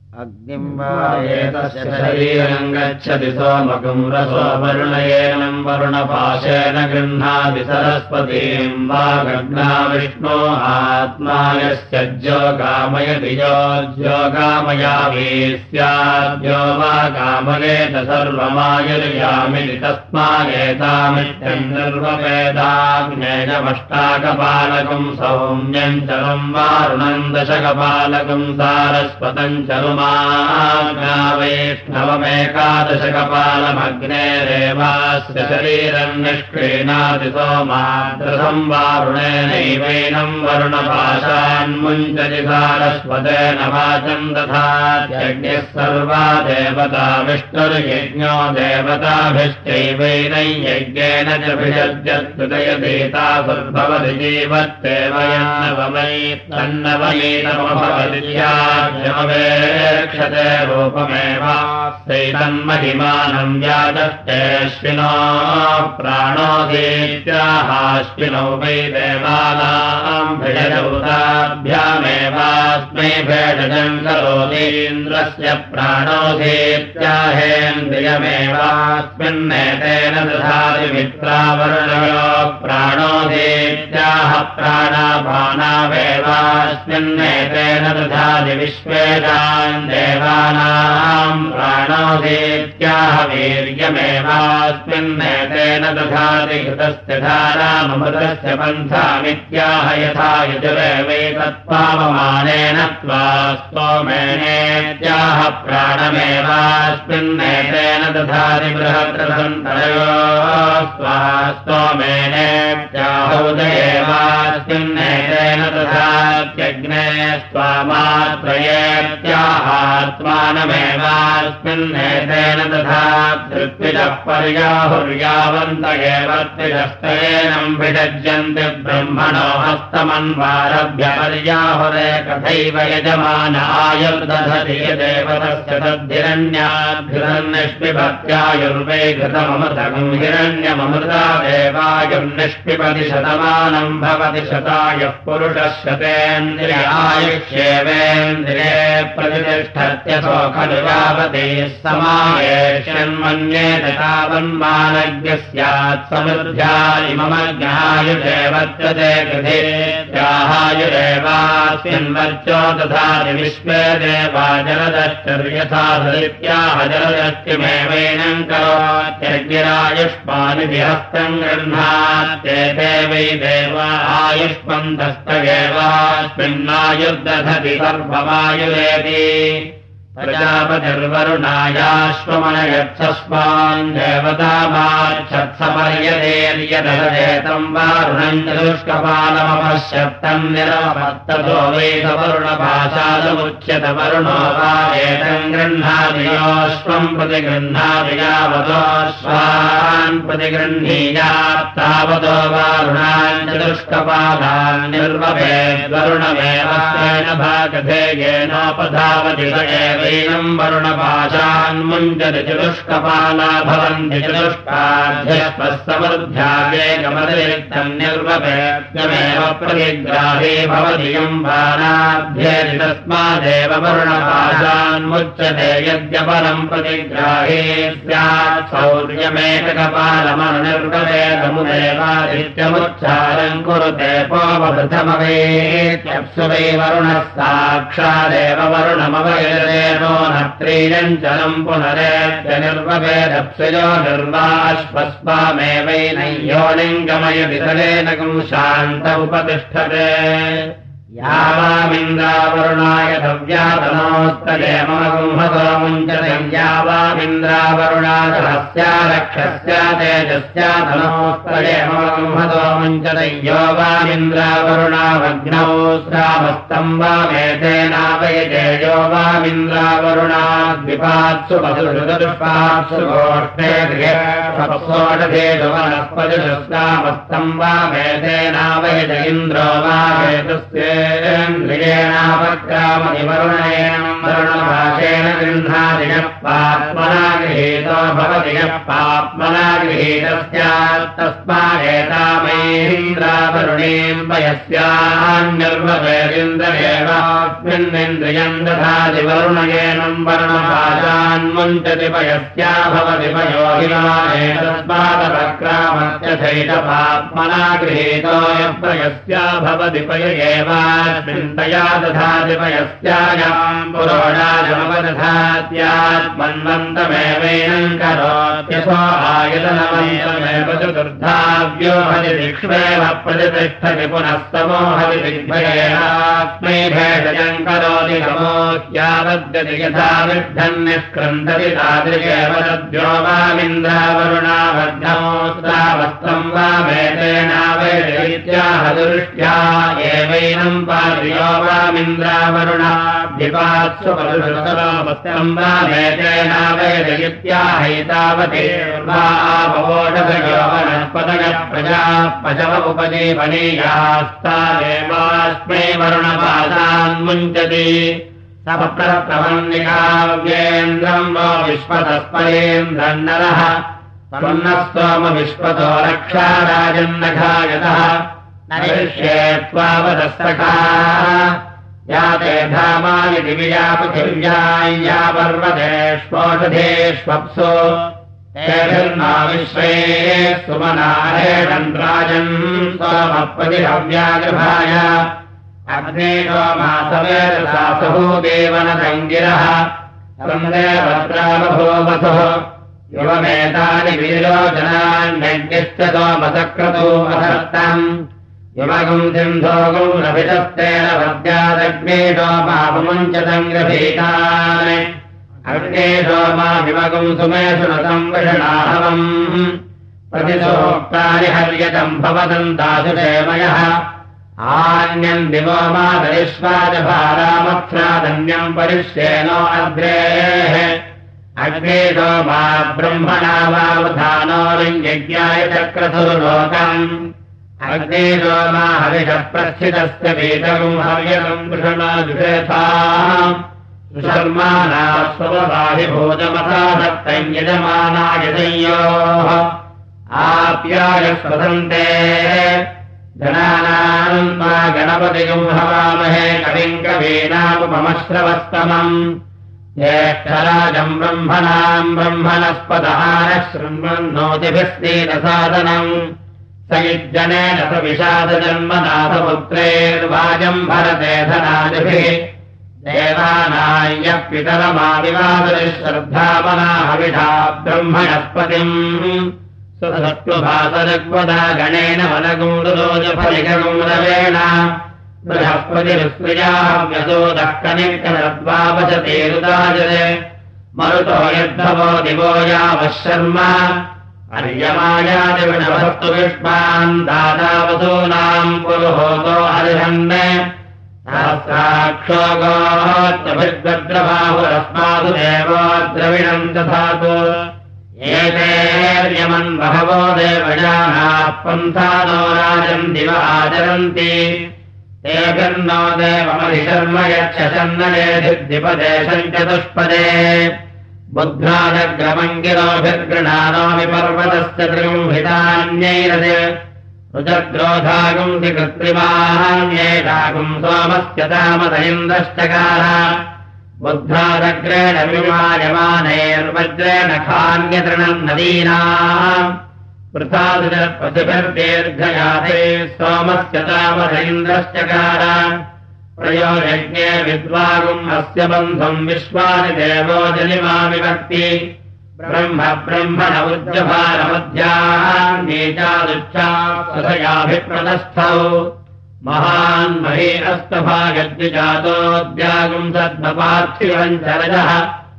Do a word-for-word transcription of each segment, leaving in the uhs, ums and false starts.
अग्निम् वा एतस्य शरीरम् गच्छति सोमकम् रसो वरुणयेनम् वरुणपाशेन गृह्णाति सरस्वतीम् वा गग्ना विष्णो आत्मा यस्य ज्यो कामयति यो ज्यो कामयामि स्याद्यो वा कामयेत सर्वमायुर्यामिति तस्मादेतामित्यम् निर्वपेदाग्नेयमष्टाकपालकम् सौम्यम् चरम् वारुणम् दशकपालकम् सारस्वतम् चरुमा वैष्णवमेकादशकपालमग्नेरेवास्य शरीरम् निष्क्रीणाति सोमाद्रसम् वारुणेनैवैनम् वरुणपाशान्मुञ्चति सारस्वतेन वाचम् दधात्यज्ञः सर्वा देवता विष्णुर्यज्ञो देवताभिश्चैवैनै यज्ञेन च भिषज्यत्कृतयतीता सुर्भवति जीवत्येव यन्नवमै तन्नवयैनमभवति क्षते रूपमेवास्यैतन्महिमानम् व्याजष्टेऽश्विनो प्राणोदीत्याहाश्विनौ वै देवानाम् भिषजौताभ्यामेवास्मै भेषजम् करोतीन्द्रस्य प्राणोदीत्याहेन्द्रियमेवास्मिन्नेतेन दधाति मित्रावर्णयो प्राणोदीत्याह प्राणापानावेवास्मिन्नेतेन दधाति विश्वेदान् देवानाम् प्राणोदीत्याह वीर्यमेवास्मिन्नेतेन दधाति घृतस्य धाराममृतस्य पन्थामित्याह यथा यजुरेवैतत्पावमानेन त्वा स्तोमेनेत्याह प्राणमेवास्मिन्नेतेन दधाति बृहद्रसन्तरयो स्वा स्तोमेनेत्याहौदयेवास्मिन्नेतेन दधात्यग्ने स्वामात्रयेत्याहात्मानमेवास्मिन्नेतेन दधात्ऋत्विजः पर्याहुर्यावन्त एव त्रिजस्तयेनम् भिषज्यन्ति ब्रह्मणो हस्तमन्वारभ्य पर्याहुरे कथैव यजमान आयुर्दधति यदेव तस्य तद्धिरण्याद्धिरन्निष्पिबत्यायुर्वै घृतममृतकम् हिरण्यममृतादेवायुर्निष्पिबति शतमानम् भवति शतायुः पुरुषः शतेन्द्रियायुष्येवेन्द्रिये प्रतिष्ठत्यसो खलु यावते समायेष्यन्मन्येत तावन्मानज्ञः स्यात् समृद्ध्यायिममज्ञायुरेवत्यते कृते त्याहायुरेवास्मिन्वर्चो दधाति विश्वे देवा जलदश्चर्यथा धरित्याह जलदश्चिमेवैनम् करोत्यग्निरायुष्मानि विहस्तम् गृह्णात्येते वै देवा आयुष्मन्तस्तगेवास्मिन्नायुर्दधति सर्वमायुरेति प्रजापतिर्वरुणायाश्वमनयच्छस्मान् देवतामाच्छत्सपर्यदेर्यदधेतम् वारुणम् चतुष्कपालमपश्यत्तम् निरपत्ततो वैतवरुणपाशादमुच्यत वरुणो वा एतम् गृह्णाति योऽश्वम् प्रति गृह्णाति यावतोऽश्वान् प्रति गृह्णीयात् तावतो वारुणान् चतुष्कपालान् निर्वपेद्वरुणमेव स्वेन भागधेयेनोपधावति स एव वैनम् वरुणपाशान्मुञ्चति चतुष्कपाला भवन्ति चतुष्काध्यः समृद्ध्यावेगमतिरिक्तम् निर्वपेत्यमेव प्रतिग्राहे भवति यम् बाणाभ्येति तस्मादेव वरुणपाशान्मुच्यते यद्यपरम् प्रतिग्राहे स्यात् शौर्यमेककपालमनुनिर्वपेदमुदेवादित्यमुच्चारम् कुरुते पोपप्रथमवेत्यप्सु वै वरुणः साक्षादेव वरुणमवयते नो नत्रीयञ्चलम् पुनरेत्य निर्वपेदप्सयो निर्वाश्वस्वामेवैनयोनिम् गमयति तलेन शान्त उपतिष्ठते यावामिन्द्रावरुणाय दव्यातनोस्तये मम गुंहतो मुञ्चते यावामिन्द्रावरुणादहस्या रक्षस्या तेजस्यातनोस्तये मम गुंहतो मुञ्चते यो वामिन्द्रावरुणावग्नौ श्रावस्तम् वामेतेनावयते यो वामिन्द्रावरुणाद्विपात्सु पशुषुदुष्पात्सु गोष्ठे गृहेषोषधेषु वनस्पतिषुश्रावस्तम् वामेतेनावयत इन्द्रो वामेतस्य इन्द्रियेणापक्रामति वरुणेन वरुणभाषेण गृह्णाति यः पाप्मना गृहीतो भवति यः पाप्मना गृहीतः स्यात् तस्मादेतामैन्द्रावरुणीम् पयस्यान्निर्वपेरिन्द्रयेवास्मिन्निन्द्रियम् दधाति वरुणयेनम् वरुणपाशान्मुञ्चति पयस्या भवति पयो हिमाने तस्मादपक्रामस्य चैतपाप्मना गृहीतो यः पयस्या भवति पय एवास्मिन्तया दधाति पयस्यायाम् पुरोडाजमवदधात्यात्मन्वन्तमेवैनम् करोत्यसो आयतनमन्तमेव चतुर्धाव्यो हरि दिक्ष्वेव प्रतिष्ठति पुनः समो हरि दिग्भयेनात्मै भेषजम् करोति समोह्यावद्यति यथा विद्धन्निष्क्रन्दति तादृशेव तद्यो वामिन्द्रावरुणावद्धमोऽस्त्रावस्त्रम् वामेतेनावैरित्याह दृष्ट्या एवैनम् पार्यो वामिन्द्रावरुणाभिपात्सु परुषतरावस्त्रम् वामेतेनावैरित्याहैतावते वा आपवोषधयो वनस्पतयः प्रजाः पशव उपजीवनीयास्तादेवास्मै वरुणपादान्मुञ्चति सप्रप्रवन्निकाव्येन्द्रम् वो विश्वतस्परेन्द्रम् नरः त्वन्नः सोम विश्वतो रक्षा राजन्नघायतः नरिष्ये त्वावदस्तका या ते धामानि दिव्या पृथिव्याम् या पर्वतेष्वोषधेष्वप्सु तेभिर्मा विश्वे सुमनारेणम् राजन् सोमप्रतिहव्यागृभाय अग्नेयो मासवेदसासुः देवनदङ्गिरः सन्देवत्रावभूवसुः युवमेतानि विलोचनान्यज्ञश्च सोमसक्रतो अधत्तम् युवगुम् सिन्धोगुम् रभितस्तेन भद्यादग्ने सोमापमुञ्चतम् गृहीतान् अग्ने सोमा विमगुम् सुमेषु न संवृषणाहवम् प्रतिसोक्तानि हर्यतम् भवतम् दासुषेमयः आन्यम् दिवो मातरिष्वाजभारामत्स्रादन्यम् परिश्येनो अग्रेः अग्ने सोमा ब्रह्मणा वावधानो लिङ्ग्यज्ञाय चक्रधुर्लोकम् अग्ने सोमा हविषः प्रस्थितस्य पीतकम् हव्यकम् वृषणाजुषेथाम् सुशर्माणा स्वभाभिभूतमथा दत्तम् यजमानाय संयोः आप्याय स्वसन्ते जनानाम् मा गणपतिगुम् हवामहे कविम् कवीनामुपमश्रवस्तमम् ज्येष्ठराजम् ब्रह्मणाम् ब्रह्मणस्पतः नः शृण्वन्नोतिभिस्तीतसादनम् स युज्जनेन स विषादजन्मनाथपुत्रेर्वाजम् भरते धनादिभिः देवानायः पितरमादिवादरिश्रद्धामना हविषा ब्रह्मणस्पतिम् सुसत्त्वभासरग्वदा गणेन वनगुण्डुलोजफलिकगुम् रवेण बृहस्पतिरुस्त्रियाव्यसोदः कनिर्कनद्वावशतेरुदाजरे मरुतो यद्धवो दिवो यावः शर्म अर्यमायादिविणभस्तु विष्मान् दादावसूनाम् पुरुहोतो अर्हन् सहस्राक्षो गोत्रभिर्गद्रबाहुरस्मासु देवो द्रविणम् दधातु एतेर्यमन् बहवो देवयानाः पन्थानो राजम् दिव आचरन्ति तेभिर्नो देवमधिशर्म यच्छन्नयेधिद्विपदेशम् चतुष्पदे बुद्ध्रादग्रमङ्गिरोभिर्गृणानोमि पर्वतस्य त्रिगुम्हितान्यैरदे रुजग्रोधागुंसि कृत्रिमान्येषागुम् सोमस्य तामद इन्द्रश्चकार बुद्ध्रादग्रेण विमायमानैर्वज्रेण खान्यतृणम् नदीनाम् पृथादुजपतिभिर्दीर्घयाते सोमस्य तामद इन्द्रश्चकार प्रयोजज्ञे विद्वागुम् अस्य बन्धुम् विश्वानि देवो जलिमा विभक्ति ब्रह्म ब्रह्मण उज्जभारमध्यान्येचादुच्छासयाभिप्रदस्थौ महान् महे अस्तभागद्विजातोऽद्यागुम् सद्मपार्थिवम् चरजः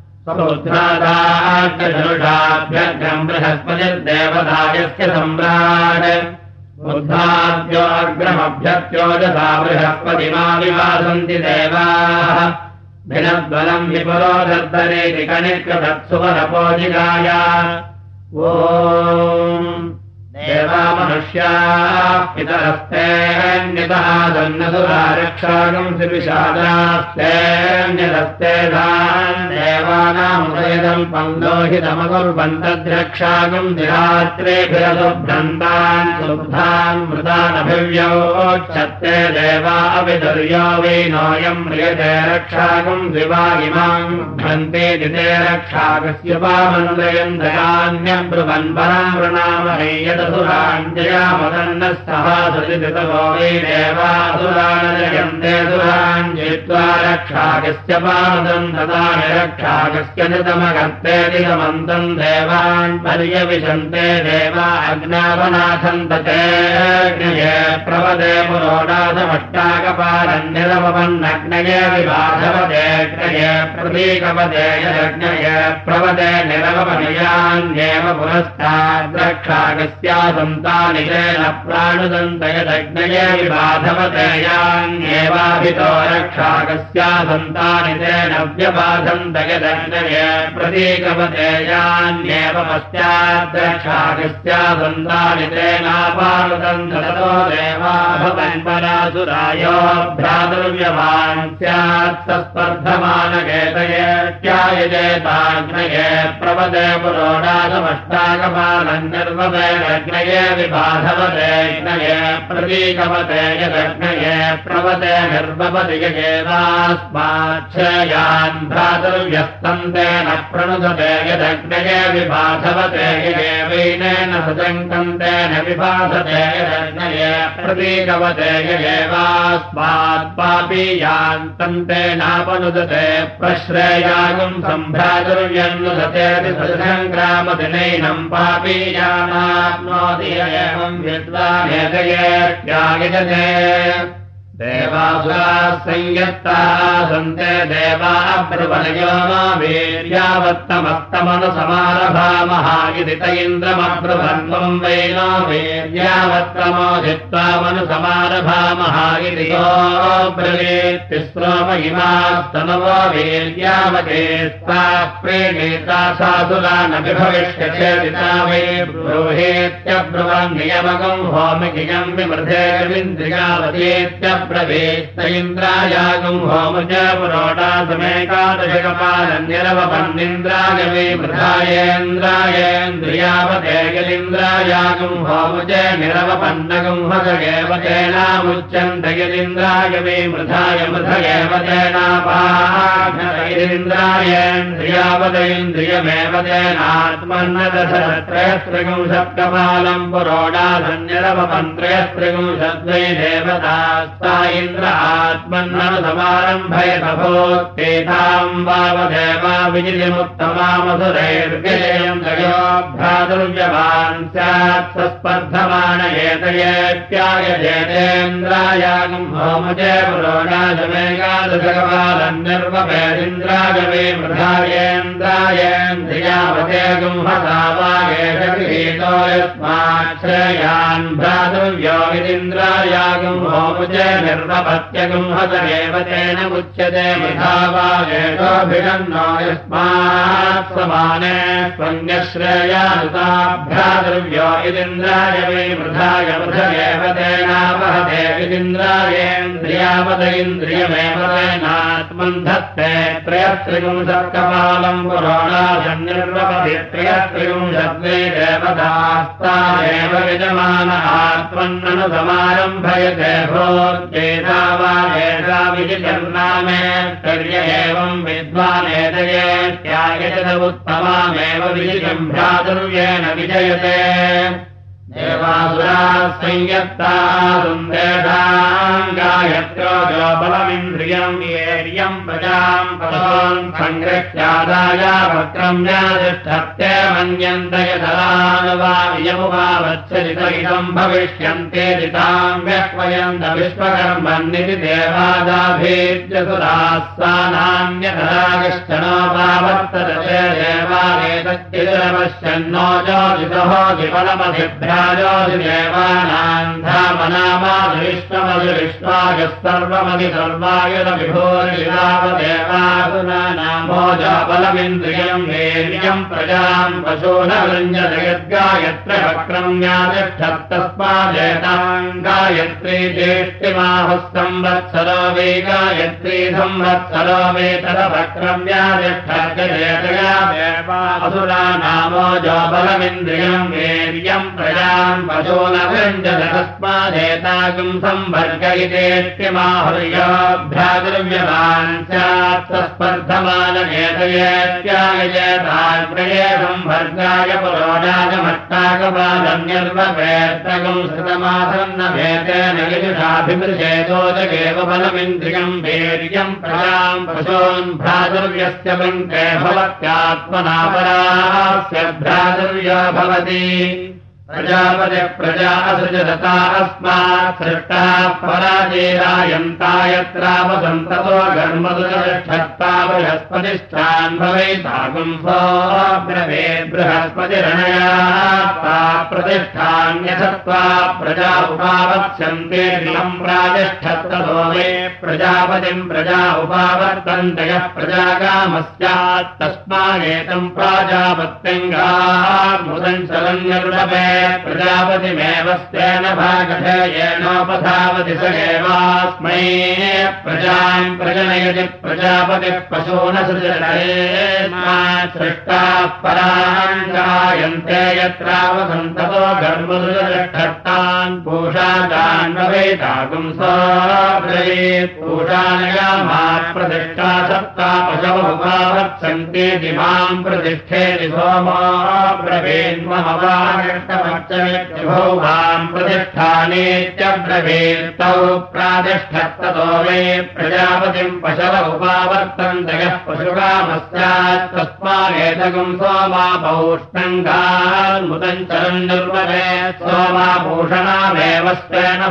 समुद्रादाग्रधनुषाभ्यग्रम् बृहस्पतिर्देवदायस्य सम्राट् बुद्धाद्यो अग्रमभ्यत्योजसा बृहस्पतिमाविवासन्ति देवाः भिनद्वलम् विपुरो दर्दरेति कनिक्रदत्सुवरपोजिगाय ॐ देवा मनुष्याः पितरस्तेऽन्यतः सन्नसुरा रक्षागंसि विषादास्तेऽन्यतस्ते धान् देवानामुदयदम् पन्दोहितमकुर्वन्तद्रक्षागंसि रात्रेभिरसुभ्रन्तान् सुब्धान् मृतानभिव्योच्छत्ते देवा अविदुर्यो वैनोऽयम् म्रियते रक्षागंसि वा इमाम् भ्रन्ते दिते रक्षागस्य पामन्द्रयन्दयान्यब्रुवन् परामृणामहे यदसुराञ्जयामदन्नः सहासृतितवो वै देवासुरानजयन्ते सुराञ्जित्वा रक्षागस्य पामदम् ददानि रक्षागस्य नितमगर्तेति समन्तम् देवान् पर्यविशन्ते देवा अग्नावनाथन्त चेऽग्नये प्रवदे पुरोडासमष्टाकपालन्निरवपन्नग्नये विबाधवदेऽग्नये प्रतीकपदे यदग्नये प्रवदे निरवपनयान्येव पुरस्ताद्रक्षागस्यासन्तानि तेन प्राणुदन्त यदग्नये विबाधवदेयान्येवाभितो रक्षागस्यासन्तानि तेन व्यबाधन्त यदग्नये प्रतीकपदेयान्येव पश्चाद्रक्षागस्यासन्तानि तेनापानुदन्त ततो देवा भवन् परासुरायो भ्रातुर्यवान् स्यात् सस्पर्धमानकेतयेत्यायजेताग्नये प्रवदे पुरोडासमष्टाकपालन्निर्वपेरग्नये विबाधवदेग्नये प्रतीकवते यदग्नये प्रवदे निर्वपति यगेवास्माच्छ्रयान् भ्रातुर्यस्तन्तेन प्रणुदते यदग्नये विबाधवते यगेवैनेन सजङ्कन्तेन विबाधते यदग्नये प्रतीकवते यगेवास्मात् पापीयान्तन्तेनापनुदते प्रश्रेयागुम् सम्भ्रातुर्यन्नुदतेति सजङ्ग्रामदिनैनम् पापीयानाप्नोति एवम् विद्वानेतयेत्यागिजते देवासुराः संयत्ताः सन्ते देवा अब्रुवनयो नो वीर्यावत्तमस्तमनुसमारभामः इति त इन्द्रमब्रुवन्त्वम् वै नो वीर्यावत्तमोधित्वा मनुसमारभामः इति योऽब्रवीत्तिस्रो महिमास्तनवो वीर्यावतेस्ताः प्रेणेता सासुरानभिभविष्यचेदिता वै ब्रूहेत्यब्रुवन् नियमकम् होमिकियम् विमृधेर्विन्द्रियावतीत्य प्रवेत्त इन्द्रायागुम् होमज पुरोडासमेकादशकपालन्निरवपन्निन्द्राय वै मृधायेन्द्रायेन्द्रियावते यदिन्द्रायागुम् होमज निरवपन्नगुम् हसगेव तेनामुच्यन्त यदिन्द्राय वै मृधाय मृधगेव तेनापाघ्नतैरिन्द्रायेन्द्रियावत इन्द्रियमेव तेनात्मन्नदशत्रयस्त्रिगुंशत्कपालम् पुरोडासन्निरवपन्त्रयस्त्रिगुंशद्वै देवतास्ता इन्द्र आत्मन्ननुसमारम्भयत भूत्तेताम् वावदेवा विजितिमुत्तमामसुरैर्गेयम् दयो भ्रातुर्यवान् स्यात् सस्पर्धमान एतयेत्यायजेतेन्द्रायागुम् होमजे पुरोडासमेकादशकपालन्निर्वपेदिन्द्राय वै मृधायेन्द्रायेन्द्रियावतेगुम् हसावागेश गृहीतो यस्माच्छ्रेयान् भ्रातुर्यो विदिन्द्रायागुम् होमुजे निर्वपत्यगुम् हसगेव तेन उच्यते मृधावागेशोऽभिषन्नो यस्मात् समाने स्वन्यश्रेयानुता भ्रातृव्यो इदिन्द्राय वै मृधाय मृधगेव तेनावहते विदिन्द्रायेन्द्रियावत इन्द्रियमेव तेनात्मन् धत्ते त्रयस्त्रिगुंशत्कपालम् पुरोडासन्निर्वपति त्रयस्त्रिगुंशद्वै देवतास्ता एव विजमान आत्मन्ननुसमारम्भयते भूत्तेता वा एषा विजितर्नामेत्तर्य एवम् विद्वानेतयेत्यायजत उत्तमामेव विजितम् भ्रातुर्येण विजयते देवासुराः संयत्ताः सुन्देशाम् गायत्रो जो बलमिन्द्रियम् येर्यम् प्रजाम् पदोन् सङ्गृह्यादाय वक्रम्यातिष्ठत्ते मन्यन्त यथानुवायमुवावच्छरित इदम् भविष्यन्ते दिताम् व्यह्वयन्त विश्वकर्मन्निति देवादाभीत्य सुराः सा नान्यतरा कश्चनोपावर्तते देवानेत तच्चिरपश्यन्नो ज्योतिषः विफलमधिभ्राजोतिदेवानाम् धामनामाधिविश्वमधिविश्वायः सर्वमधि सर्वायुधविभोरिलावदेवासुरानामो जाबलमिन्द्रियम् वीर्यम् प्रजाम् पशून वृञ्जदयद्गायत्र वक्रम्यातिष्ठत्तस्मादेताम् गायत्री ज्येष्ठिमाहुः संवत्सरो वै गायत्री संवत्सरो वै तदवक्रम्यातिष्ठर्गजेतया देवासुरानामो जाबलमिन्द्रियम् वीर्यम् प्रजाम् पशून वृञ्जदतस्मादेतागुम् संवर्ग इतेष्टिमाहुर्योऽभ्याद्रव्यमान् स्यात् स्पर्धमानकेतयेत्यायजेतान् प्रये संवर्गाय पुरोडागमट्टाकपादम् निर्वपेत्तगुम् श्रुतमासन्नभेतेन यजुषाभिमृशेदोदगेव बलमिन्द्रियम् वीर्यम् प्रजाम् पशून् भ्रातुर्यस्य वृङ्के भवत्यात्मना परास्य भ्रातुर्यो भवति प्रजापतिः प्रजा असृजता अस्मात् सृष्टाः पराजेरायन्ता यत्रावसन्ततो गर्मदुरक्षत्ता बृहस्पतिष्ठान् भवेतागुम् सोऽब्रवेत् बृहस्पतिरणया प्रतिष्ठान्यथत्वा प्रजा उपावत्स्यन्ते दिवम् प्रातिष्ठत्ततो वे प्रजापतिम् प्रजा उपावर्तन्ते यः प्रजाकामस्यात् तस्मादेतम् प्राजापत्यङ्गार्मुदम् शरण्यरुडभे प्रजापतिमेव स्तेन भागधेयेनोपधावति स एवास्मै प्रजाम् प्रजनयति प्रजापतिः पशून सृजनयेत् सृष्टाः परान् गायन्ते यत्रावसन्ततो गर्भदुरक्षट्टान् पूषादान् भवेतागुम् सोऽब्रवीत् पूषानयामात् प्रतिष्ठा सप्ता पशवः उपावर्त्सन्ते दिवाम् प्रतिष्ठेति सोमोऽब्रवीन्महवागष्टमच्चमित्यभौभाम् प्रतिष्ठानेत्यब्रवीत्तौ प्रातिष्ठत्ततो वे प्रजापतिम् पशव उपावर्तन्त यः पशुकामस्यात् तस्मादेतगुम् सोमापौष्णङ्गान्मुदम् चरन्निर्वभेत् सोमाभूषणामेव स्तेन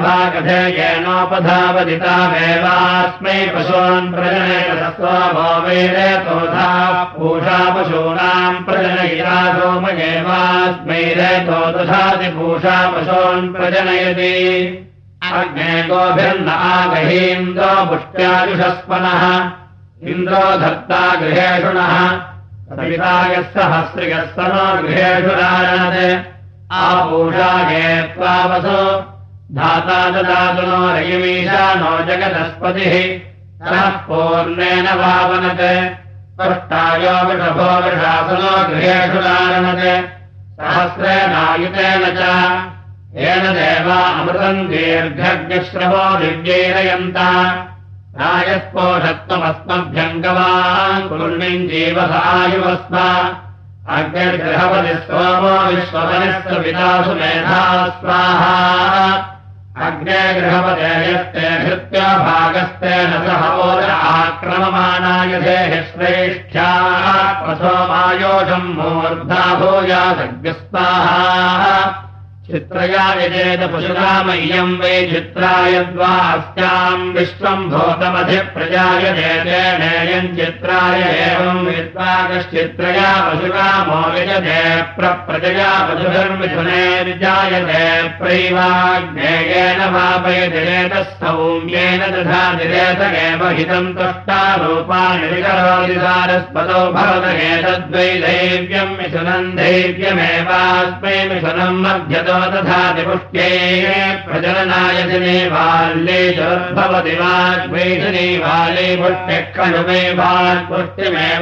भागधेयेनोपधावदितामेवास्मै पशून् प्रजनयत सोमो वेदेतोधा पूषा पशूनाम् प्रजनयिता सोमयेवास्मै रेतो दधाति पूषा पशून् प्रजनयति अग्ने गोभिर्न आगहीन्द्रो पुष्ट्याजुषस्पनः इन्द्रो धत्ता गृहेषुणः सवितायः सहस्रियः सनो गृहेषु राजनते आपूषागे त्वावसो धाता ददातु नो रयिमीशानो जगदस्पतिः सः पूर्णेन वावनते पृष्टायो वृषभो वृषासनो गृहेषु राजनते सहस्रेणायुतेन च येन देवा अमृतम् दीर्घज्ञश्रवो दिव्यैरयन्ता रायस्पोषत्वमस्मभ्यम् गवान् कुर्मिन् जीवसायुवस्म अग्निर्गृहपतिः सोमो विश्वपनिः विदासु मेधा स्वाहा अग्ने गृहपते यस्ते हृत्या भागस्तेन सह ओज आक्रममानायधेः श्रेष्ठ्याः प्रसोमायोषम् मूर्धा भूयासग्स्वाहा चित्रया यजेत पशुरामह्यम् वै चित्रायद्वा अस्याम् विश्वम् भूतमधिप्रजायजेतेनेयम् चित्राय एवम् विद्वाकश्चित्रया पशुरामो यजते प्रप्रजया पशुधर्मिथुनेर्जायते प्रैवाग्नेयेन वापयतिरेतः सौम्येन दधातिरेत एव हितम् तुष्टारूपाणि विकरोति सारस्पतो भवत एतद्वै दैव्यम् मिथुनम् दैव्यमेवास्मै मिथुनम् मध्यतो तथाति पुष्ट्ये प्रजननाय दिने बाल्ये चोद्भवति वाग्वैषिणी बाले पुष्ट्यः खलु वै वाग्पुष्टिमेव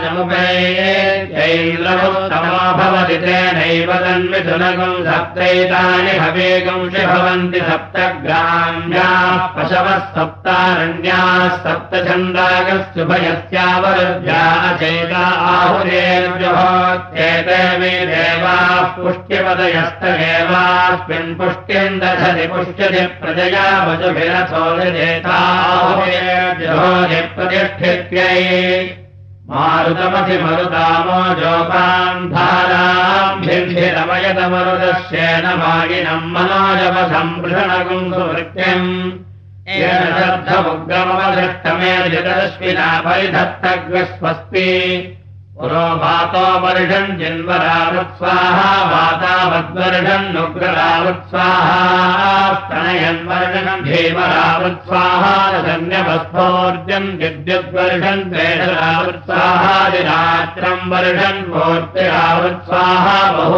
वाचमुपैन्द्रमुत्तमो भवति तेनैव तन्मिथुनगुम् सप्तैतानि हवेगुंषि भवन्ति सप्तग्राम्याः पशवः सप्तारण्याः सप्तछन्दागस्युभयस्यावरुद्ध्या अचेता आहुरेर्जुहोत्येते मे देवाः पुष्ट्यपदयस्त एवास्मिन् पुष्ट्यम् दधति पुष्यति प्रजया वचुभिरथो विजेताहुरेर्जुहोति प्रतिष्ठित्यै मारुतमसि मरुतामो जोपान् धाराम् भिर्भिरमयतमरुदस्येन मागिनम् मनोजवसम्पृषणगुम् सुवृत्त्यम् येन शब्दमुग्रमवदृष्टमे जगदश्विना परिधत्तग्रस्वस्ति पुरो वातो वर्षन् जिन्वरावत्स्वाहा वातावद्वर्षन् नुग्ररावत्स्वाहा स्तनयन् वर्षन् धीमरावत्स्वाहा धन्यवस्थोर्जन् विद्युद्वर्षन् द्वेषरावत्स्वाहा दिरात्रम् वर्षन् मूर्तिरावत्स्वाहा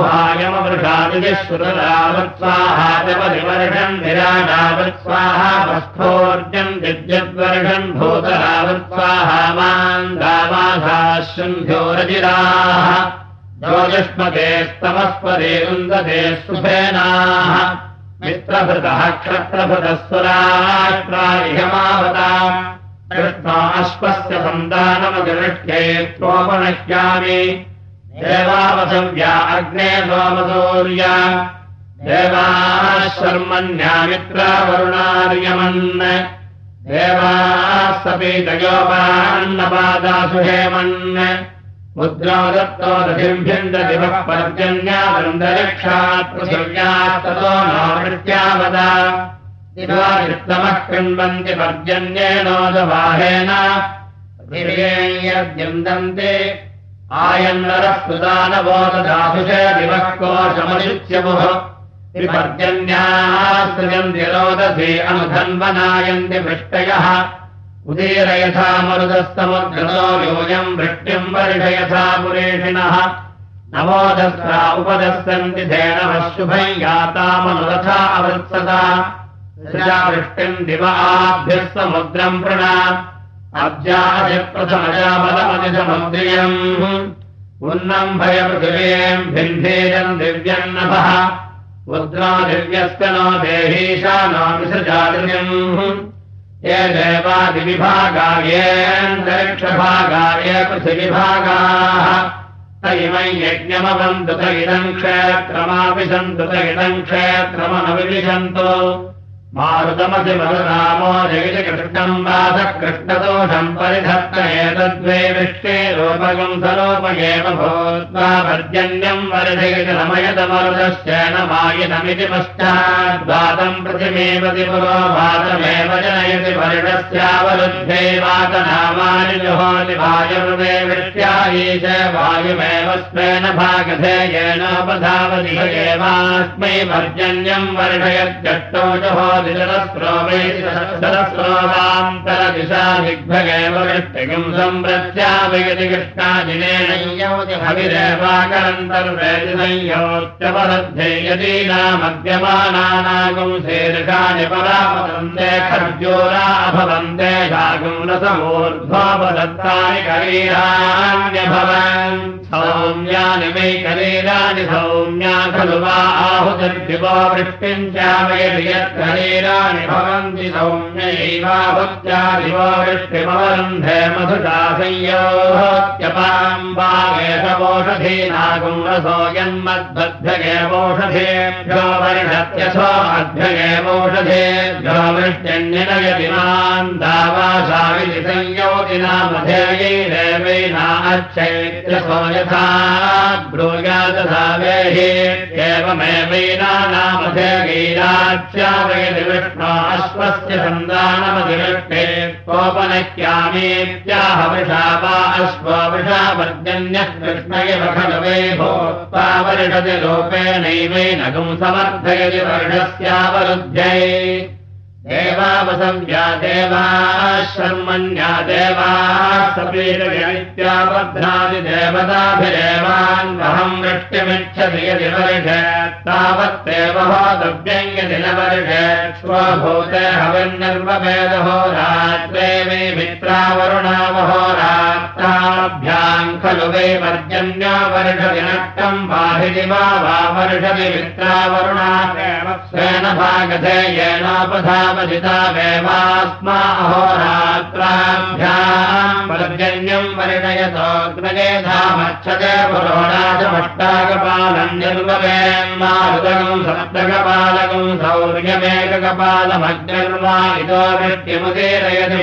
बहुहायमवृषादिश्रुतरावत्स्वाहा जपरिवर्षन् विराडावत्स्वाहा वस्थोर्जन् विद्युद्वर्षन् भूतरावत्स्वाहा मान्दावाधाशुन्ध्यो रजिराः ज्योतिष्मते स्तमस्पदे वृन्दते सुफेनाः मित्रभृतः क्षत्रभृतः सुराष्ट्रायमावता कृष्णो अश्वस्य सन्तानमधिष्ठ्ये त्वोपनश्यामि देवावसव्या अग्ने सोमसूर्या देवाः शर्मण्या मित्रावरुणार्यमन् देवाः सपीतयोपान्नपादासु हेमन् मुद्रो दत्तो दधिम्भ्यन्ददिवः पर्जन्यावृन्दरक्षात् पृथिव्यास्ततो नो मृत्यावदा दिवारित्तमः कृण्वन्ति पर्जन्येनोदवाहेन पृथिव्येयद्यन्दन्ते आयन्नरः सुदानवोदधासुषे दिवः कोशमयुच्यमुः विपर्जन्यास्त्रियन्ति रोदसी अनुधन्वनायन्ति वृष्टयः उदीरयथा मरुदस्तमुद्रतो यूयम् वृष्टिम् वर्षयथा पुरेषिणः नवोदस्रा उपदस्सन्ति धेनवः शुभम् यातामनुरथा अवृत्सता वृष्टिम् दिव आभ्यः समुद्रम् प्रणा अब्जादिप्रथमजाबलमतिसमुद्रियम् उन्नम् भयपृथिवीम् भिन्धेयम् दिव्यम् नभः रुद्रो दिव्यस्य नो देहीशा नो विसृजादिर्यम् ये देवादिविभागा येऽन्तरिक्षभागा ये पृथिविभागाः त इमम् यज्ञमवन्तु त इदम् क्षेत्रमाविशन्तु त इदम् क्षेत्रमनविविशन्तु मारुतमसि मरुरामो जगिति कृष्णम् वासः कृष्णदोषम् परिधत्त एतद्वे विष्टे रूपगम् सरूपयेव भूत्वा पर्जन्यम् वर्धयति रमयतमरुदश्चेन मायितमिति पश्चाद्वातम् पृथिमेवति पुरो वातमेव जनयति वर्णस्यावरुद्धे वातनामानि जुहोति वायुर्वे वृष्ट्यायीश वायुमेव स्वेन भागधे येनोपधावति एवास्मै पर्जन्यम् वर्षयत्यष्टो जुहोति सरस्रोवान्तरदिशा दिग्भगेव वृष्टिकम् संव्रत्यावयति कृष्णाजिनेन हविरेवाकरन्तर्वेदि संयोच्यपरद्धे यदीनामद्यमानानागुम् शीर्षानि परापतन्ते खर्जूरा अभवन्ते शागुम् रसमूर्ध्वोपदत्तानि करीराण्यभवन् सौम्यानि वै करीराणि सौम्या खलु वा आहुतिर्दिवो वृष्टिम् चावयति यत्करीराणि भवन्ति सौम्यैवाहुत्या दिवो वृष्टिमवरुन्धे मधुषा संयोत्यपाम् वागेशवोषधीनागुम् रसो यन्मद्भ्यगेवोषधेभ्यो वर्षत्यथो अभ्यगेवोषधेभ्यो वृष्ट्यन्यनयति माम् दावाशाविति संयोतिनामधेयैरेवैना अच्छैत्यसो यथा ब्रूयादधा वेहि एवमेवैना नामधेयैराच्यावयति विष्णो अश्वस्य सन्तानमधिवृष्टे कोपनक्यामीत्याह वृषा वा अश्वो वृषा पर्जन्यः कृष्ण इव खलु वै भूत्वा वर्षति रूपेणैवैनगुम् समर्थयति वर्षस्यावरुध्यै देवावसव्या देवाः शर्मण्या देवाः सपीतयनित्याबध्नादि देवताभिरेवान्वहम् वृष्टिमिच्छति यदि वर्षे तावत्तेव होतव्यम् यदि न वर्षे स्वभूते हविर्निर्ववेदहो रात्रे वै मित्रावरुणावहो रात्राभ्याम् खलु वै पर्जन्यो वर्षति नक्तम् वाहिनि वा वा वर्षति मित्रावरुणा स्वेन भागधे येनोपधा वेवास्मा अहोरात्राभ्याम् पर्जन्यम् वर्णयतोऽग्नये धामच्छते पुरोणाचमष्टाकपालम् निर्ववेन्मारुतकम् सप्तकपालकम् सौर्यमेककपालमग्निर्वा इतो वृष्टिमुदीरयति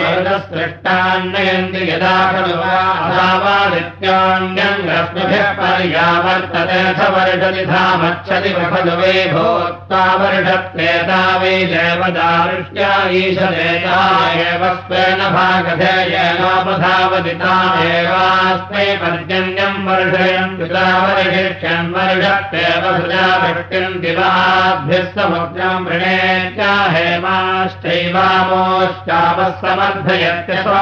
मरुतसृष्टान्नयन्ति यदा खलु वा अथावादित्योऽन्यम् रश्मिभिः पर्यावर्तते स वर्षति धामच्छति खलु वे भोक्ता वर्षत्वेता वै देवदारुष्या ईशदेता एव स्वेन भागधेयेनोपधावति तामेवास्मै पर्जन्यम् वर्षयन् युता वर्षिष्यन् वर्षत्वेव सुजा वृष्टिम् दिवाद्भिः समुद्रम् वृणेत्या हेमाश्चैवामोश्चापः समर्थयत्यसो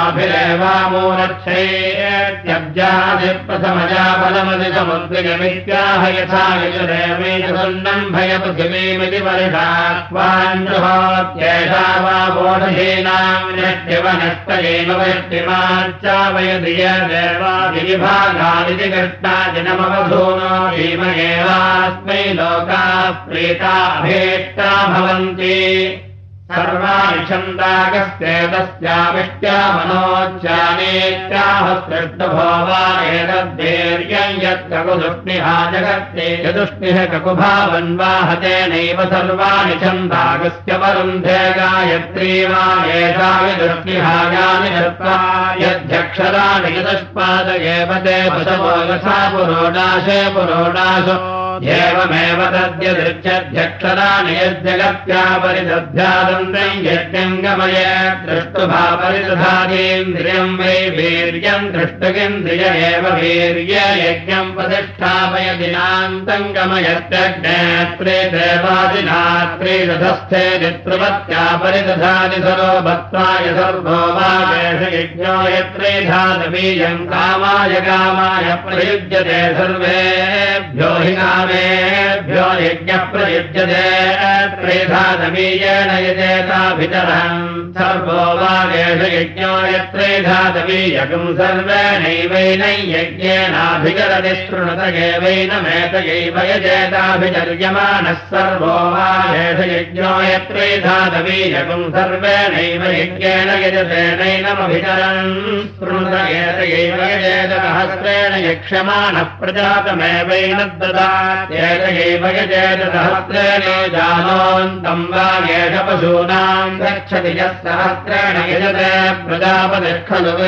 आभिरेवामोरक्षैत्यब्जादिप्रथमजा फलमधि समुद्रिगमित्याह यथा यजुरेवैतसुन्नम् भयपृथिवीमिति वर्षाक्वाञ्जुहोत्येषा वा बोधहीनाम् नष्टिवनष्टयेम वृष्टिमाच्चावयधिय देवादिविभागादिति कृष्णादिनमवधूनो भीमयेवास्मै लोकाः प्रीता अभीष्टा भवन्ति सर्वाणि छन्दागस्येतस्याविष्ट्या मनोच्चानेत्याह सृष्टभोवा एतद्धीर्यम् यत्ककुदुष्णिहा जगत्ते यदुष्णिः ककुभावन्वाहतेनैव सर्वाणि छन्दागस्य वरुन्धे गायत्री वा एषा विदुष्णिहायानि दत्त्वा यध्यक्षराणि यदुष्पाद एव ते पशवो यथा पुरोडाशे पुरोडाशो एवमेव तद्यदृच्छध्यक्षराणि यज्जगत्या परिदध्यादन्तम् यज्ञम् गमये दृष्टुभा परिदधातीन्द्रियम् वै वीर्यम् दृष्टगिन्द्रिय एव वीर्य यज्ञम् प्रतिष्ठापय दिनान्तम् गमयत्यग्नेत्रे देवादिनात्रे रथस्थे नित्रवत्या परिदधाति सरो भक्त्वाय सर्वो वागेश यज्ञो यत्रे धातवीयम् कामाय कामाय प्रयुज्यते सर्वेभ्यो हि भ्यो यज्ञः प्रयुज्यते त्रेधातवीयेन यजेताभितरम् सर्वो वागेश यज्ञो यत्रेधातवीयकम् सर्वेणैवैनै यज्ञेनाभिचरति शृणुत एवैनमेतयैव यजेताभिचर्यमाणः सर्वो वागेश यज्ञो यत्रेधातवीयकम् सर्वेणैव यज्ञेन यजतेनैनमभिचरन् शृणुत एतयैव यजेतसहस्रेण यक्ष्यमाणः प्रजातमेवैन एतयैव यजेतसहस्रेण जानोऽन्तम् वा एष पशूनाम् गच्छति यः सहस्रेण यजते प्रजापतिः खलु वे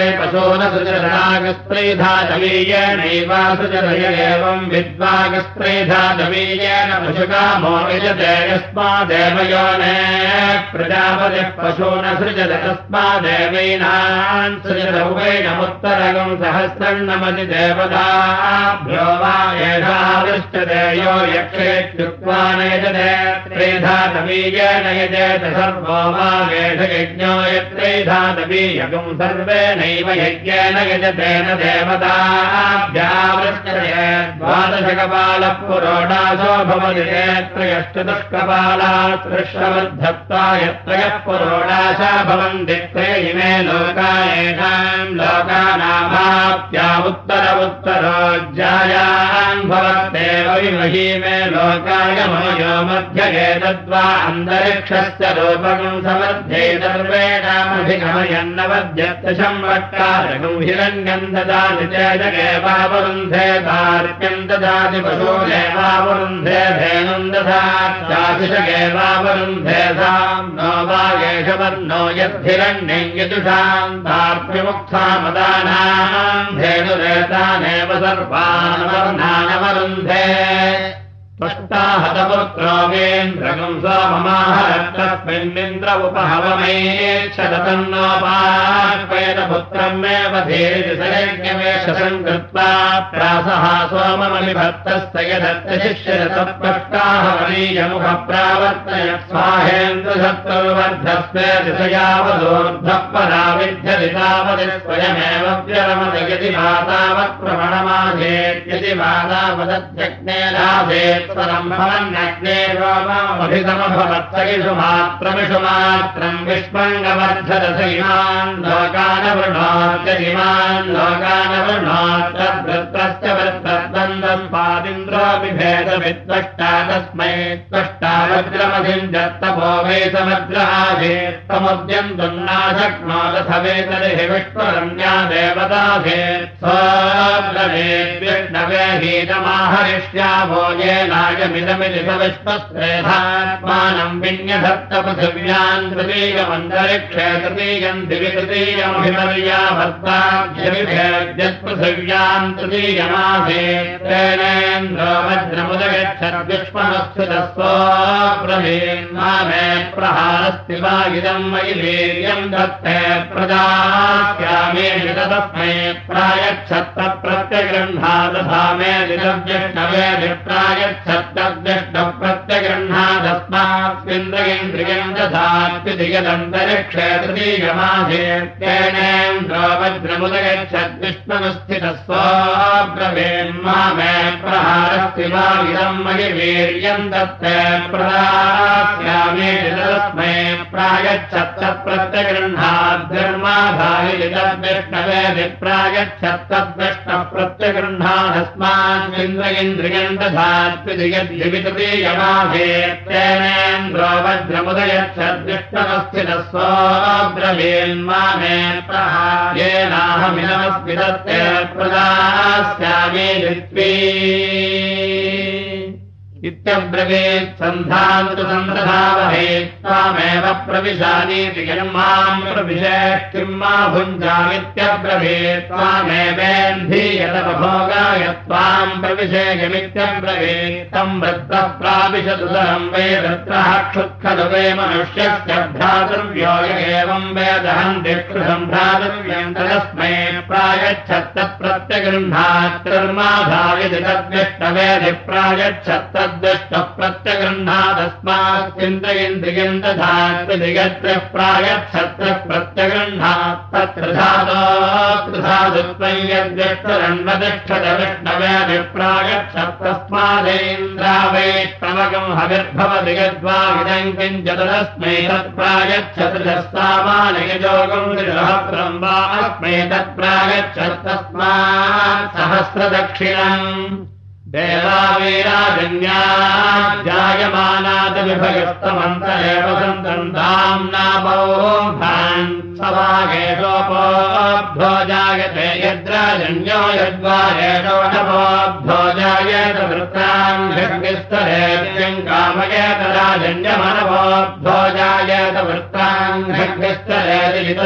पशूनसुजरागस्त्रीधातवीयेनैवासुजरय एवम् विद्वागस्त्रीधातवीयेन पशुकामो यजते यस्मादेव योनेः प्रजापतिः पशूनसृजत तस्मादेवैनान् सृजत उभैनमुत्तरगम् सहस्रन्नमति देवताभ्यो वा एषा दृष्टते यो यक्षेत्युक्त्वा न यजते त्रेधातवीयेन यजेत सर्वो वागेश यज्ञो यत्रेधातवीयकम् सर्वेणैव यज्ञेन यजतेन देवताभ्यावृष्टते द्वादशकपालः पुरोडाशो भवति त्रयश्चतुष्कपालाः त्रिश्रवद्धत्वा यत्रयः पुरोडाशा भवन्ति त्रय इमे लोका येषाम् लोकानामाप्या उत्तर उत्तरोज्जायान् भवत्येव विमहीमे लोकाय मोयो मध्य एतद्वा अन्तरिक्षस्य रूपकम् समर्थे सर्वेणामभिगमयन्नवद्यत्तशम् वट्कारकम् हिरण्यम् ददाति चेदगेवावरुन्धे तार्क्यम् ददाति पशूरेवावरुन्धे धेनुम् दधात्याशिषगेवावरुन्धे साम् नो वागेशवर्णो यद्धिरण्यम् यदुषाम् तार्क्यमुक्थामदानाम् धेनुरेतानेव सर्वानवर्णानवरुन्धे त्वष्टाहतपुत्रोगेन्द्रकम् सोममाहरत्तस्मिन्निन्द्र उपहवमेच्छतन्नोपाह्वयतपुत्रम् एव धीरिति सयज्ञवेशसम् कृत्वा प्रासः सोममलिभक्तस्य यदत्यशिष्यतत्त्वष्टाहवनीयमुखप्रावर्तय स्वाहेन्द्रसत्तुर्वर्धस्वे दिशयावदूर्ध्वः पराविध्यति तावति स्वयमेव व्यरमत यदि मातावत्प्रमणमाधेत्यदि मातावदध्यग्नेनाधेत् भवन्नग्ने रोममभिसमभवत्सगिषु मात्रमिषु मात्रम् विष्मङ्गवर्धरस इमान् लोकानवृणोत्यदिमान् लोकानवृणोत्यवृत्रस्य वृत्रद्वन्द्वम् पादिन्द्रोऽपि भेदविद्वष्टा तस्मै त्वष्टा वज्रमधिम् जत्तपो वै समुद्रहाधेत्तमुद्यन्तुम् नाशक्नोदथ वेतरिहि विष्णुरन्या देवताधेत् सोऽब्रवीद्विष्ण वेहीतमाहरिष्यावो येनायमिदमिति सविश्वस्त्रेधात्मानम् विन्यधत्त पृथिव्याम् तृतीयमन्तरिक्षे तृतीयम् दिवि तृतीयमभिमर्याभर्ताभ्यविभेद्यत्पृथिव्याम् तृतीयमासीत् तेनेन्द्रो वज्रमुदगच्छद्विष्मनुस्थितस्वब्रवीन् मामे प्रहारस्ति वा इदम् मयि वीर्यम् दत्ते प्रदास्यामि तस्मै प्रायच्छत्त प्रत्यगृह्णादधामे दिदव्यष्णवे विप्रायच्छत्तव्यष्ण प्रत्यगृह्णादस्मास्मिन्द्रियम् दधात्विधिगदन्तरिक्षे तृतीयमाधेत्येनेन्द्रो वज्रमुदगच्छद्विष्णुस्थितस्वब्रवीन् मामे प्रहारस्ति वा इदम् मयि वीर्यम् दत्ते प्रदास्यामि तस्मै प्रायच्छत्त प्रत्यगृह्णाद्धर्माधाय दिदव्यष्णवे विप्रायच्छत्तद्विष्ण प्रत्यगृह्णादस्मास्मिन्द्रियम् दधात्विधिगद्वितृतीयमाधेत्येनेन्द्रो वज्रमुदयच्छद्विष्णुस्थितस्वब्रवीन् मामे प्रहारेणाहमिदमस्मि दत्ते प्रदास्यामि दित्वी इत्यब्रवीत् सन्धान्तु सन्दधावहे त्वामेव प्रविशानीति यम् माम् प्रविशेः किम् मा भुञ्जामित्यब्रवीत् त्वामेवेन्धीयतपभोगाय त्वाम् प्रविशेयमित्यब्रवीत् तम् वृत्रः प्राविशदुदरम् वै वृत्रः क्षुत्खलु वै मनुष्यस्य भ्रातृव्यो य एवम् वेदहम् दिक्षुषम् भ्रातृव्यम् तदस्मै प्रायच्छत्त प्रत्यगृह्णात्तर्माधायति तद्विष्णवेदि प्रायच्छत्त द्विष्टः प्रत्यगृह्णादस्मात्तिन्द्रियम् दधात्विधिगत्रः प्रायच्छत्रः प्रत्यगृह्णात् तत्र धातोऽत्रिधातुत्वम् यद्विष्णुरन्वतिष्ठत विष्णवेऽभिप्रायच्छत्तस्मादेन्द्रा वैष्णवकम् हविर्भवति यद्वा इदम् किञ्चिदस्मै तत्प्रायच्छत्रिधः सामानयजोगम् त्रिसहस्रम् वा अस्मै तत्प्रायच्छत्तस्मात् सहस्रदक्षिणम् देवावीराजन्या जायमानादविभगस्तमन्तरेव सन्तम् धाम्नामोभान् सवागेशोपोऽभ्यो जायते यद्राजन्यो यद्वारेशोऽभ्यो जायेत वृत्ताङ्घ्यस्तरेत्यम् कामयेत राजन्यमनवोऽभ्यो जायेत वृत्ताङ्घ्यस्तरेति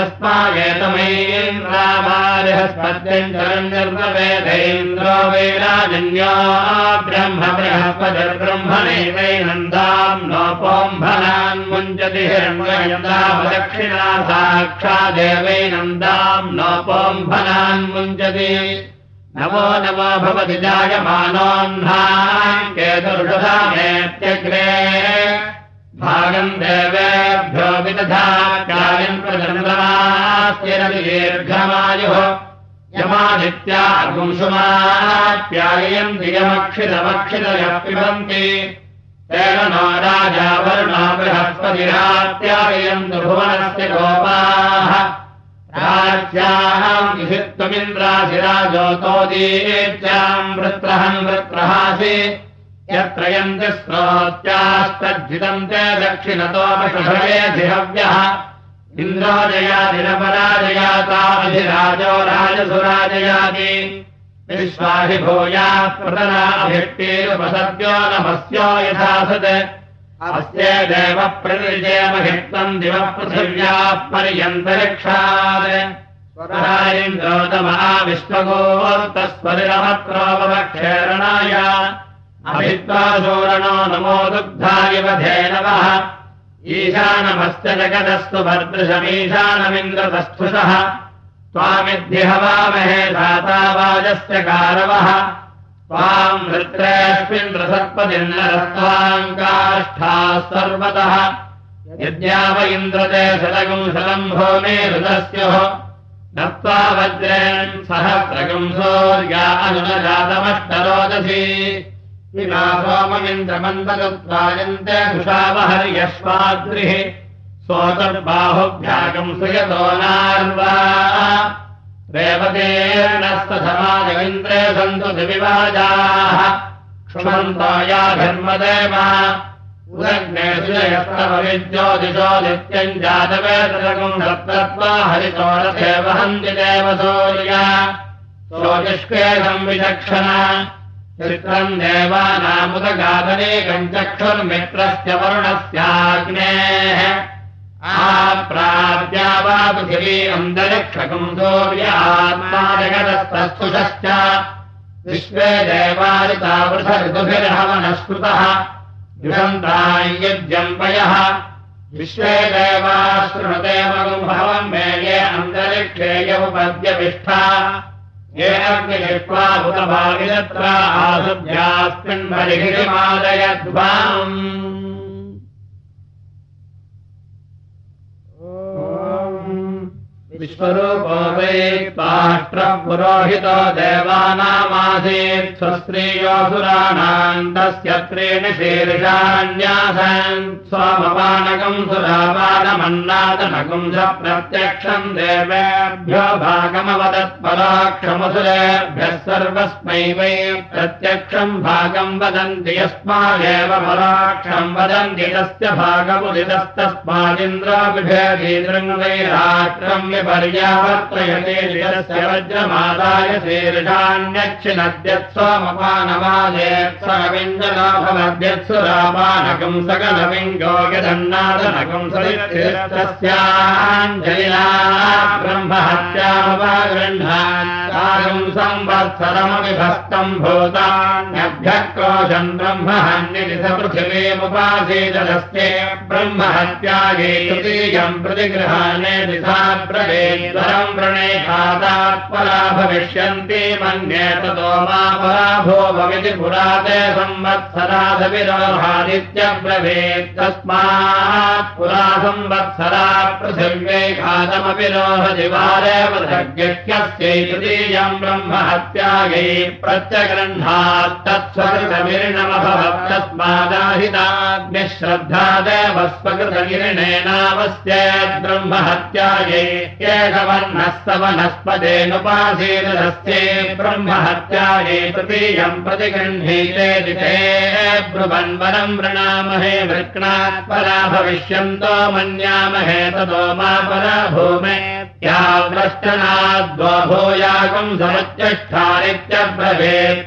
तस्मागेतमैन्द्रामारिहस्पत्यम् चरम् निर्ववेदैन्द्रो वैराजन्यो ब्रह्म बृहस्पतिर्ब्रह्मणैवैनन्दाम् नोपोम्भनान् मुञ्चति हिरण्यन्दावदक्षिणा साक्षादेवैनन्दाम् नोपोम्भनान् मुञ्चति नमो नमो भवति जायमानोऽह्नाम् केतुर्षधामेत्यग्रे भागम् देवेभ्यो विदधात्यायम् प्रचन्द्रमास्यरति दीर्घमायुः यमादित्यागुंसुमाप्यायम् दियमक्षितमक्षितयः पिबन्ति तेन नो राजा वरुणो बृहस्पतिरात्यायम् भुवनस्य गोपाः राज्याम् विहित्वमिन्द्राधिराजोतोदीत्याम् वृत्रहम् वृत्रहासि यत्र यन्ति स्रोत्यास्तज्जितम् ते दक्षिणतोपषभवेधिहव्यः इन्द्रो जयाधिरपराजयाताधिराजो राजसुराजयाति विश्वाहि भूयाः प्रतनाभिष्टिरुपसद्यो नमस्यो यथासत् अस्ये देव प्रनिर्जयमहित्वम् दिवः पृथिव्याः पर्यन्तरिक्षात् स्वरायिन्द्रोतमा विश्वगोत्तस्वरिरमत्रोपवक्षेरणाय अभित्वा सूरणो नमो दुग्धाय धेनवः ईशानमस्य जगदस्तु भर्दृशमीशानमिन्द्रतस्थुषः त्वामिद्धि हवामहे धातावाजस्य कारवः त्वाम् वृत्रेऽस्मिन्द्रसत्पतिर्नरस्त्वाम् काष्ठाः सर्वतः यद्याव इन्द्रते शतगुम् शतम् भूमिरुदस्युः नत्वा वज्रेण सहस्रगुम् सूर्या अनुजातमष्टरोदसी इमा सोममिन्द्रमन्दगत्वायन्ते दुषावहर्यश्वाद्रिः सोतर्बाहुभ्यागम् सुयतो नार्वा रेवतेर्नस्तधमाजगिन्द्रे सन्तु दिविवाजाः क्षुमन्तो या धर्मदेव उदग्ने सुजयस्तव विद्योतिषो नित्यम् जातवेतरगुम् सप्तत्वा हरितो रथे वहन्ति देव सूर्या सोऽजिष्केदम् विचक्षण चित्रम् देवानामुदगादनेकम् चक्षुर्मित्रस्य वरुणस्याग्नेः आप्राप्या वा पृथिवी अन्तरिक्षकम् सूर्यात्मा जगतस्तस्तुषश्च विश्वे देवारिता वृषऋतुभिर्हवनस्कृतः युषन्ताय्यज्यम्पयः विश्वे देवाः शृणुते मगुम्भवम् मे ये अन्तरिक्षे यमुपद्यविष्ठा ये अग्निजिह्वा भूतभागिरत्रा आसुभ्यास्मिन्मरिहिमादयध्वाम् विश्वरूपो वै पाष्ट्रः पुरोहितो देवानामासीत् स्वस्त्रीयोऽसुराणाम् तस्य त्रीणि शीर्षाण्यासन् सोमपानकम् सुरापानमन्नादनकम् च प्रत्यक्षम् देवेभ्यो भागमवदत्परोक्षमसुरेभ्यः सर्वस्मै वै प्रत्यक्षम् भागम् वदन्ति यस्मादेव परोक्षम् वदन्ति तस्य भागमुदितस्तस्मादिन्द्रो बिभेदीदृङ् वै राष्ट्रम् पर्यावर्तयते यस्य वज्रमादाय शीर्षाण्यच्छिनद्यत् सोमपानवादेत् सकविञ्जनो भवद्यत्सुरापानकम् सकलविङ्गो यदन्नादनकम् सरित्तस्याञ्जलिना ब्रह्महत्यामपगृह्णात् संवत्सरमपि भस्तम् भूतान्यभ्यः क्रोशन् ब्रह्महन्निति स पृथिवीमुपासीदस्ते ब्रह्महत्यायै तृतीयम् प्रतिगृहाणे दिशा द्वरम् वृणे खादात् परा भविष्यन्ति मन्ये ततो मा पराभोभविति पुराते संवत्सरादविरोहादित्यब्रवीत् तस्मात् पुरा संवत्सरा पृथिव्यै खादमपि रोहदिवारे वृथग्यस्यै तृतीयम् ब्रह्महत्यायै प्रत्यगृह्णात् तत्स्वकृतमिरिणमभवत् तस्मादाहिताग्निः श्रद्धा देवः स्वकृतगिरिणेनावस्येत् ब्रह्महत्यायै एकवर्णः स वनस्पतेनुपासीदस्ये ब्रह्महत्यायै तृतीयम् प्रतिगृह्णीते दिते ब्रुवन्वरम् वृणामहे वृक्णात् परा भविष्यन्तो मन्यामहे ततो मा परा भूमे या व्रश्चनाद्वो भूयागम् समुच्चष्ठानित्यब्रवीत्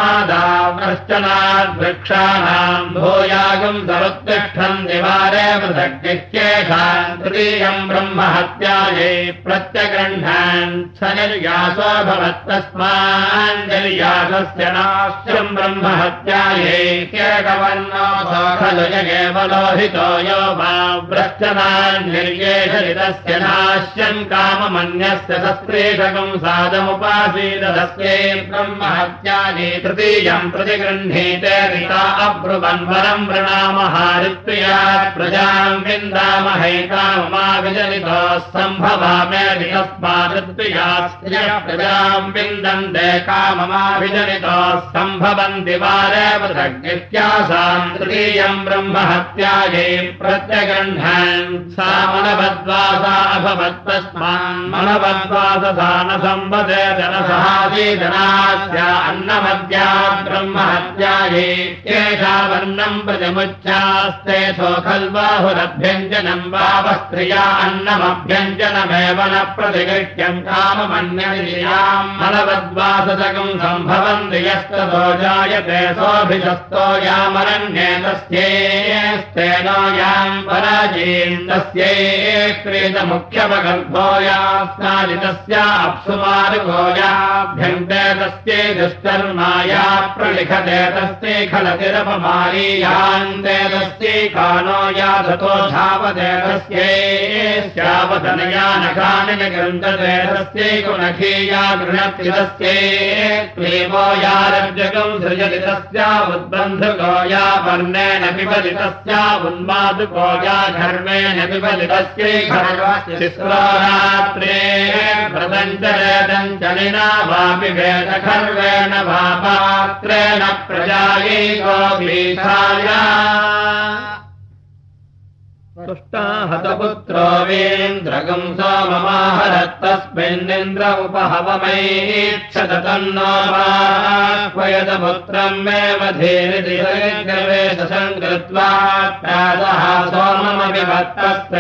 तस्मादाव्रश्चनाद्वृक्षाणाम् भूयागम् समुत्तिष्ठन् दिवारे पृथग्नित्येषाम् तृतीयम् ब्रह्महत्यायै प्रत्यगृह्णान् स निर्यासो भवत्तस्मान्निर्यासस्य नाश्यम् ब्रह्महत्यायै केकवर्णो खलु यगेव लोहितो यो वा व्रश्चनान्निर्येषति तस्य नाश्यम् काममन्यस्य सस्त्रीषकम् सादमुपासीदस्यै ब्रह्महत्यायै तृतीयम् प्रतिगृह्णीते ऋता अब्रुवन्वरम् वृणामहारित्र्यात् प्रजाम् विन्दामहे काममाविजनितो सम्भवामेति तस्मादृत्र्यास्त्रियः प्रजाम् विन्दन्ते काममाविजनितो सम्भवन्ति वारे पृथग्नित्यासाम् तृतीयम् ब्रह्महत्यायै प्रत्यगृह्णान् सा मनवद्वासा अभवत्तस्मान् मनवद्वाससा न संवदे जनसहासीदनास्या अन्नमद्यात् ब्रह्महत्यायै एषा वर्णम् प्रजमुच्चास्ते सोऽखल्बाहुरभ्यञ्जनम् वावस्त्रिया अन्नमभ्यञ्जनमेव न प्रतिगृह्यम् काममन्यनियाम् मनवद्वाससकम् सम्भवन्ति यस्ततो जायते सोऽभिशस्तो यामरण्ये तस्येस्तेनो याम् पराजीन् तस्यै क्रीतमुख्यपगर्भो यास्नादितस्या अप्सुमारुगो याभ्यन्ते तस्यै दुष्कर्माया प्रलिखते तस्यै खलतिरपमारीयान्ते तस्यै कानो याधतो धावते तस्यै श्यावधनया नखानि निगृह्णते तस्यै कुनखीया गृह्णति तस्यै क्लीबो यारज्जकम् सृजति तस्या उद्बन्धुको या वर्णेन पिबति तस्या उन्मादुको या घर्मेण पिबति तस्यै शिश्रोरात्रे व्रतञ्चलेदञ्चलिना वापि वेदखर्वेण वा पात्रेण प्रजायै गोपीठाया तुष्टाहतपुत्रो वीन्द्रगं सोममाहरत्तस्मिन्निन्द्र उपहवमैच्छत तन्नो वाह्वयदपुत्रं मे मधीरितिवेशसङ्कृत्वा प्रातः सोममपि भक्तस्य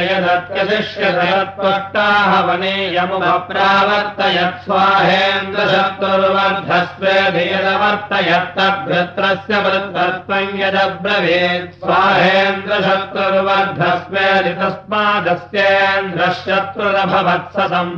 यदत्यशिष्यतत्वष्टाहवनीयमुपप्रावर्तयत् स्वाहेन्द्रशक्तुर्वर्धस्वेधियदवर्तयत्तद्भृत्रस्य वृत्तत्वं यदब्रवीत् स्वाहेन्द्रशक्तुर्वर्धस्वेधि तस्मादस्येन्द्रशत्रुरभवत्स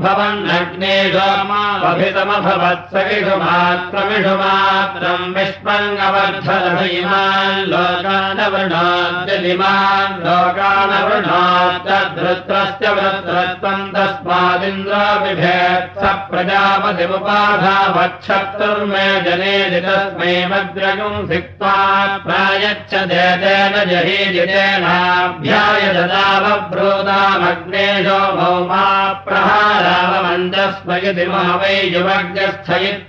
सम्भवन्नग्नेशोमाभितमभवत्स इषुमात्रमिषु मात्रं विष्पङ्गवर्धनधीमान् लोकानवृणाद्यलिमान् लोकानवृणाद्यद्धृत्रस्य वृत्रत्वं तस्मादिन्द्राभिभेत् स प्रजापतिमुपाधावच्छत्रुर्मे जनेदि तस्मै मद्रगुं सिक्त्वा प्रायच्छदेतेन जहीजितेनाभ्याय ददावब्रूतामग्नेशो भौमा प्रहारावमन्दस्मयति महवै युवज्ञस्थ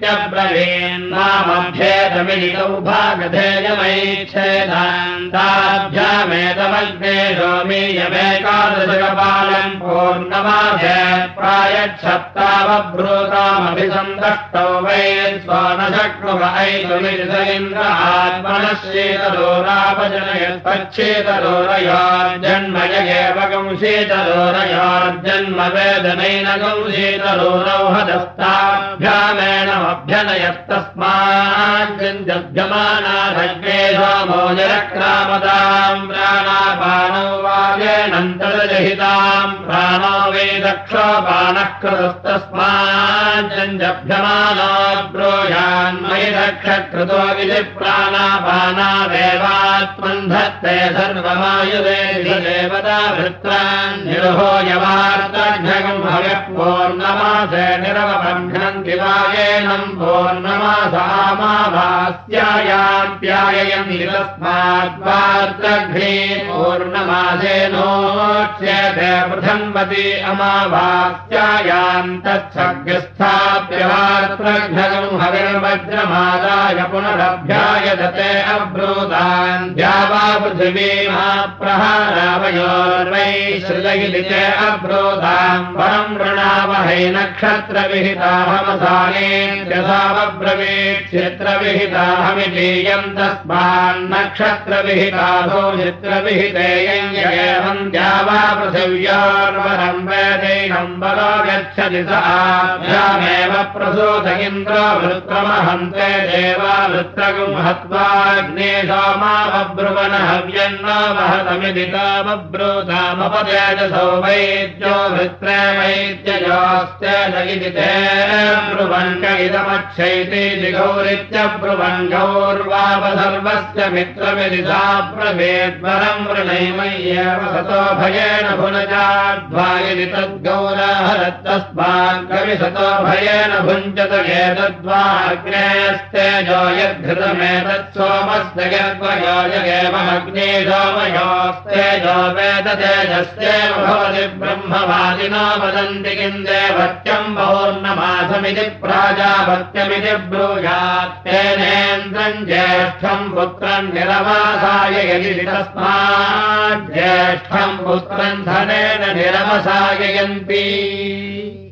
इत्यब्रवीन्नामभ्येतमिलितौ भागधेयमैच्छेदान्ताभ्यामेतमग्नेशो मीयमेकादशकपालम् पूर्णमासे प्रायच्छप्तावब्रूतामभिसन्दष्टौ वै स्वनशक्नुव ऐतुमिति स इन्द्र आत्मनः शीतलोरापजनयत्पच्छीतलोरयोर्जन्म यगेवगं शीतलोरयोर्जन्म वेदनैनगं शीतलोरौ हदस्ताभ्यामेणमभ्यनयत्तस्माज्जभ्यमानाधग्नेशो मोजरक्रामतां प्राणापानौ वाजेनन्तर्जहितां प्राणो वै दक्षोपानः कृतस्तस्माज्जभ्यमानो ब्रूयान्मयि दक्षकृतो विधि प्राणापानादेवात्मन् धत्ते सर्वमायुधे देवता भृत्रान् निरुहो यवार्तघ्नगं हविः पूर्णमासे निरवबध्नन्ति वायेनं पूर्णमासामाभास्यायान्त्याययन्ति तस्माद्वार्तघ्ने पूर्णमासेनोच्यते पृथन्वति अमाभास्यायाम् तच्छग्रस्थाप्यवार्तघ्नगं हविर्वज्रमादाय पुनरभ्याय दते अब्रूतान् द्यावा पृथिवीमा प्रहारावयोर्वै श्रुतगिलिते अब्रूताम् परं वृणावहै नक्षत्रविहिताहमसानेत्यथावब्रवीत् चित्रविहिताहमितीयं तस्मान्नक्षत्रविहिताभो चित्रविहितेयं एवं द्यावा पृथिव्योर्वरं वेदैनं बलो गच्छति स आभ्यामेव प्रसूत इन्द्रो वृत्रमहन्ते देवा वृत्रगुं हत्वाग्ने सोमावब्रुवन हव्यन्न वहतमिति तामब्रूतामपतेजसो वैद्यो वृत्रे वैद्ययोस्तेज इति ते ब्रुवन्क इदमक्षैति जिगौरित्यब्रुवन् गौर्वावसर्वस्य मित्रमिति सा ब्रवीद्वरं वृणैमय्येव सतो भयेन भुनजाध्वायिति तद्गौराहरत्तस्मात् कविसतो भयेन भुञ्जत एतद्वाग्नेस्तेजो यद्धृतमेतत् सोमस्य यद्वयो यगेवमग्ने सोमयोस्तेजो वेद तेजस्येव भवति ब्रह्मवादिनो वदन्ति किं देवत्यं पौर्णमासमिति प्राजापत्यमिति ब्रूयात् तेनेन्द्रं ज्येष्ठं पुत्रं निरवासाय यदि तस्मात् ज्येष्ठं पुत्रं धनेन निरवसाययन्ति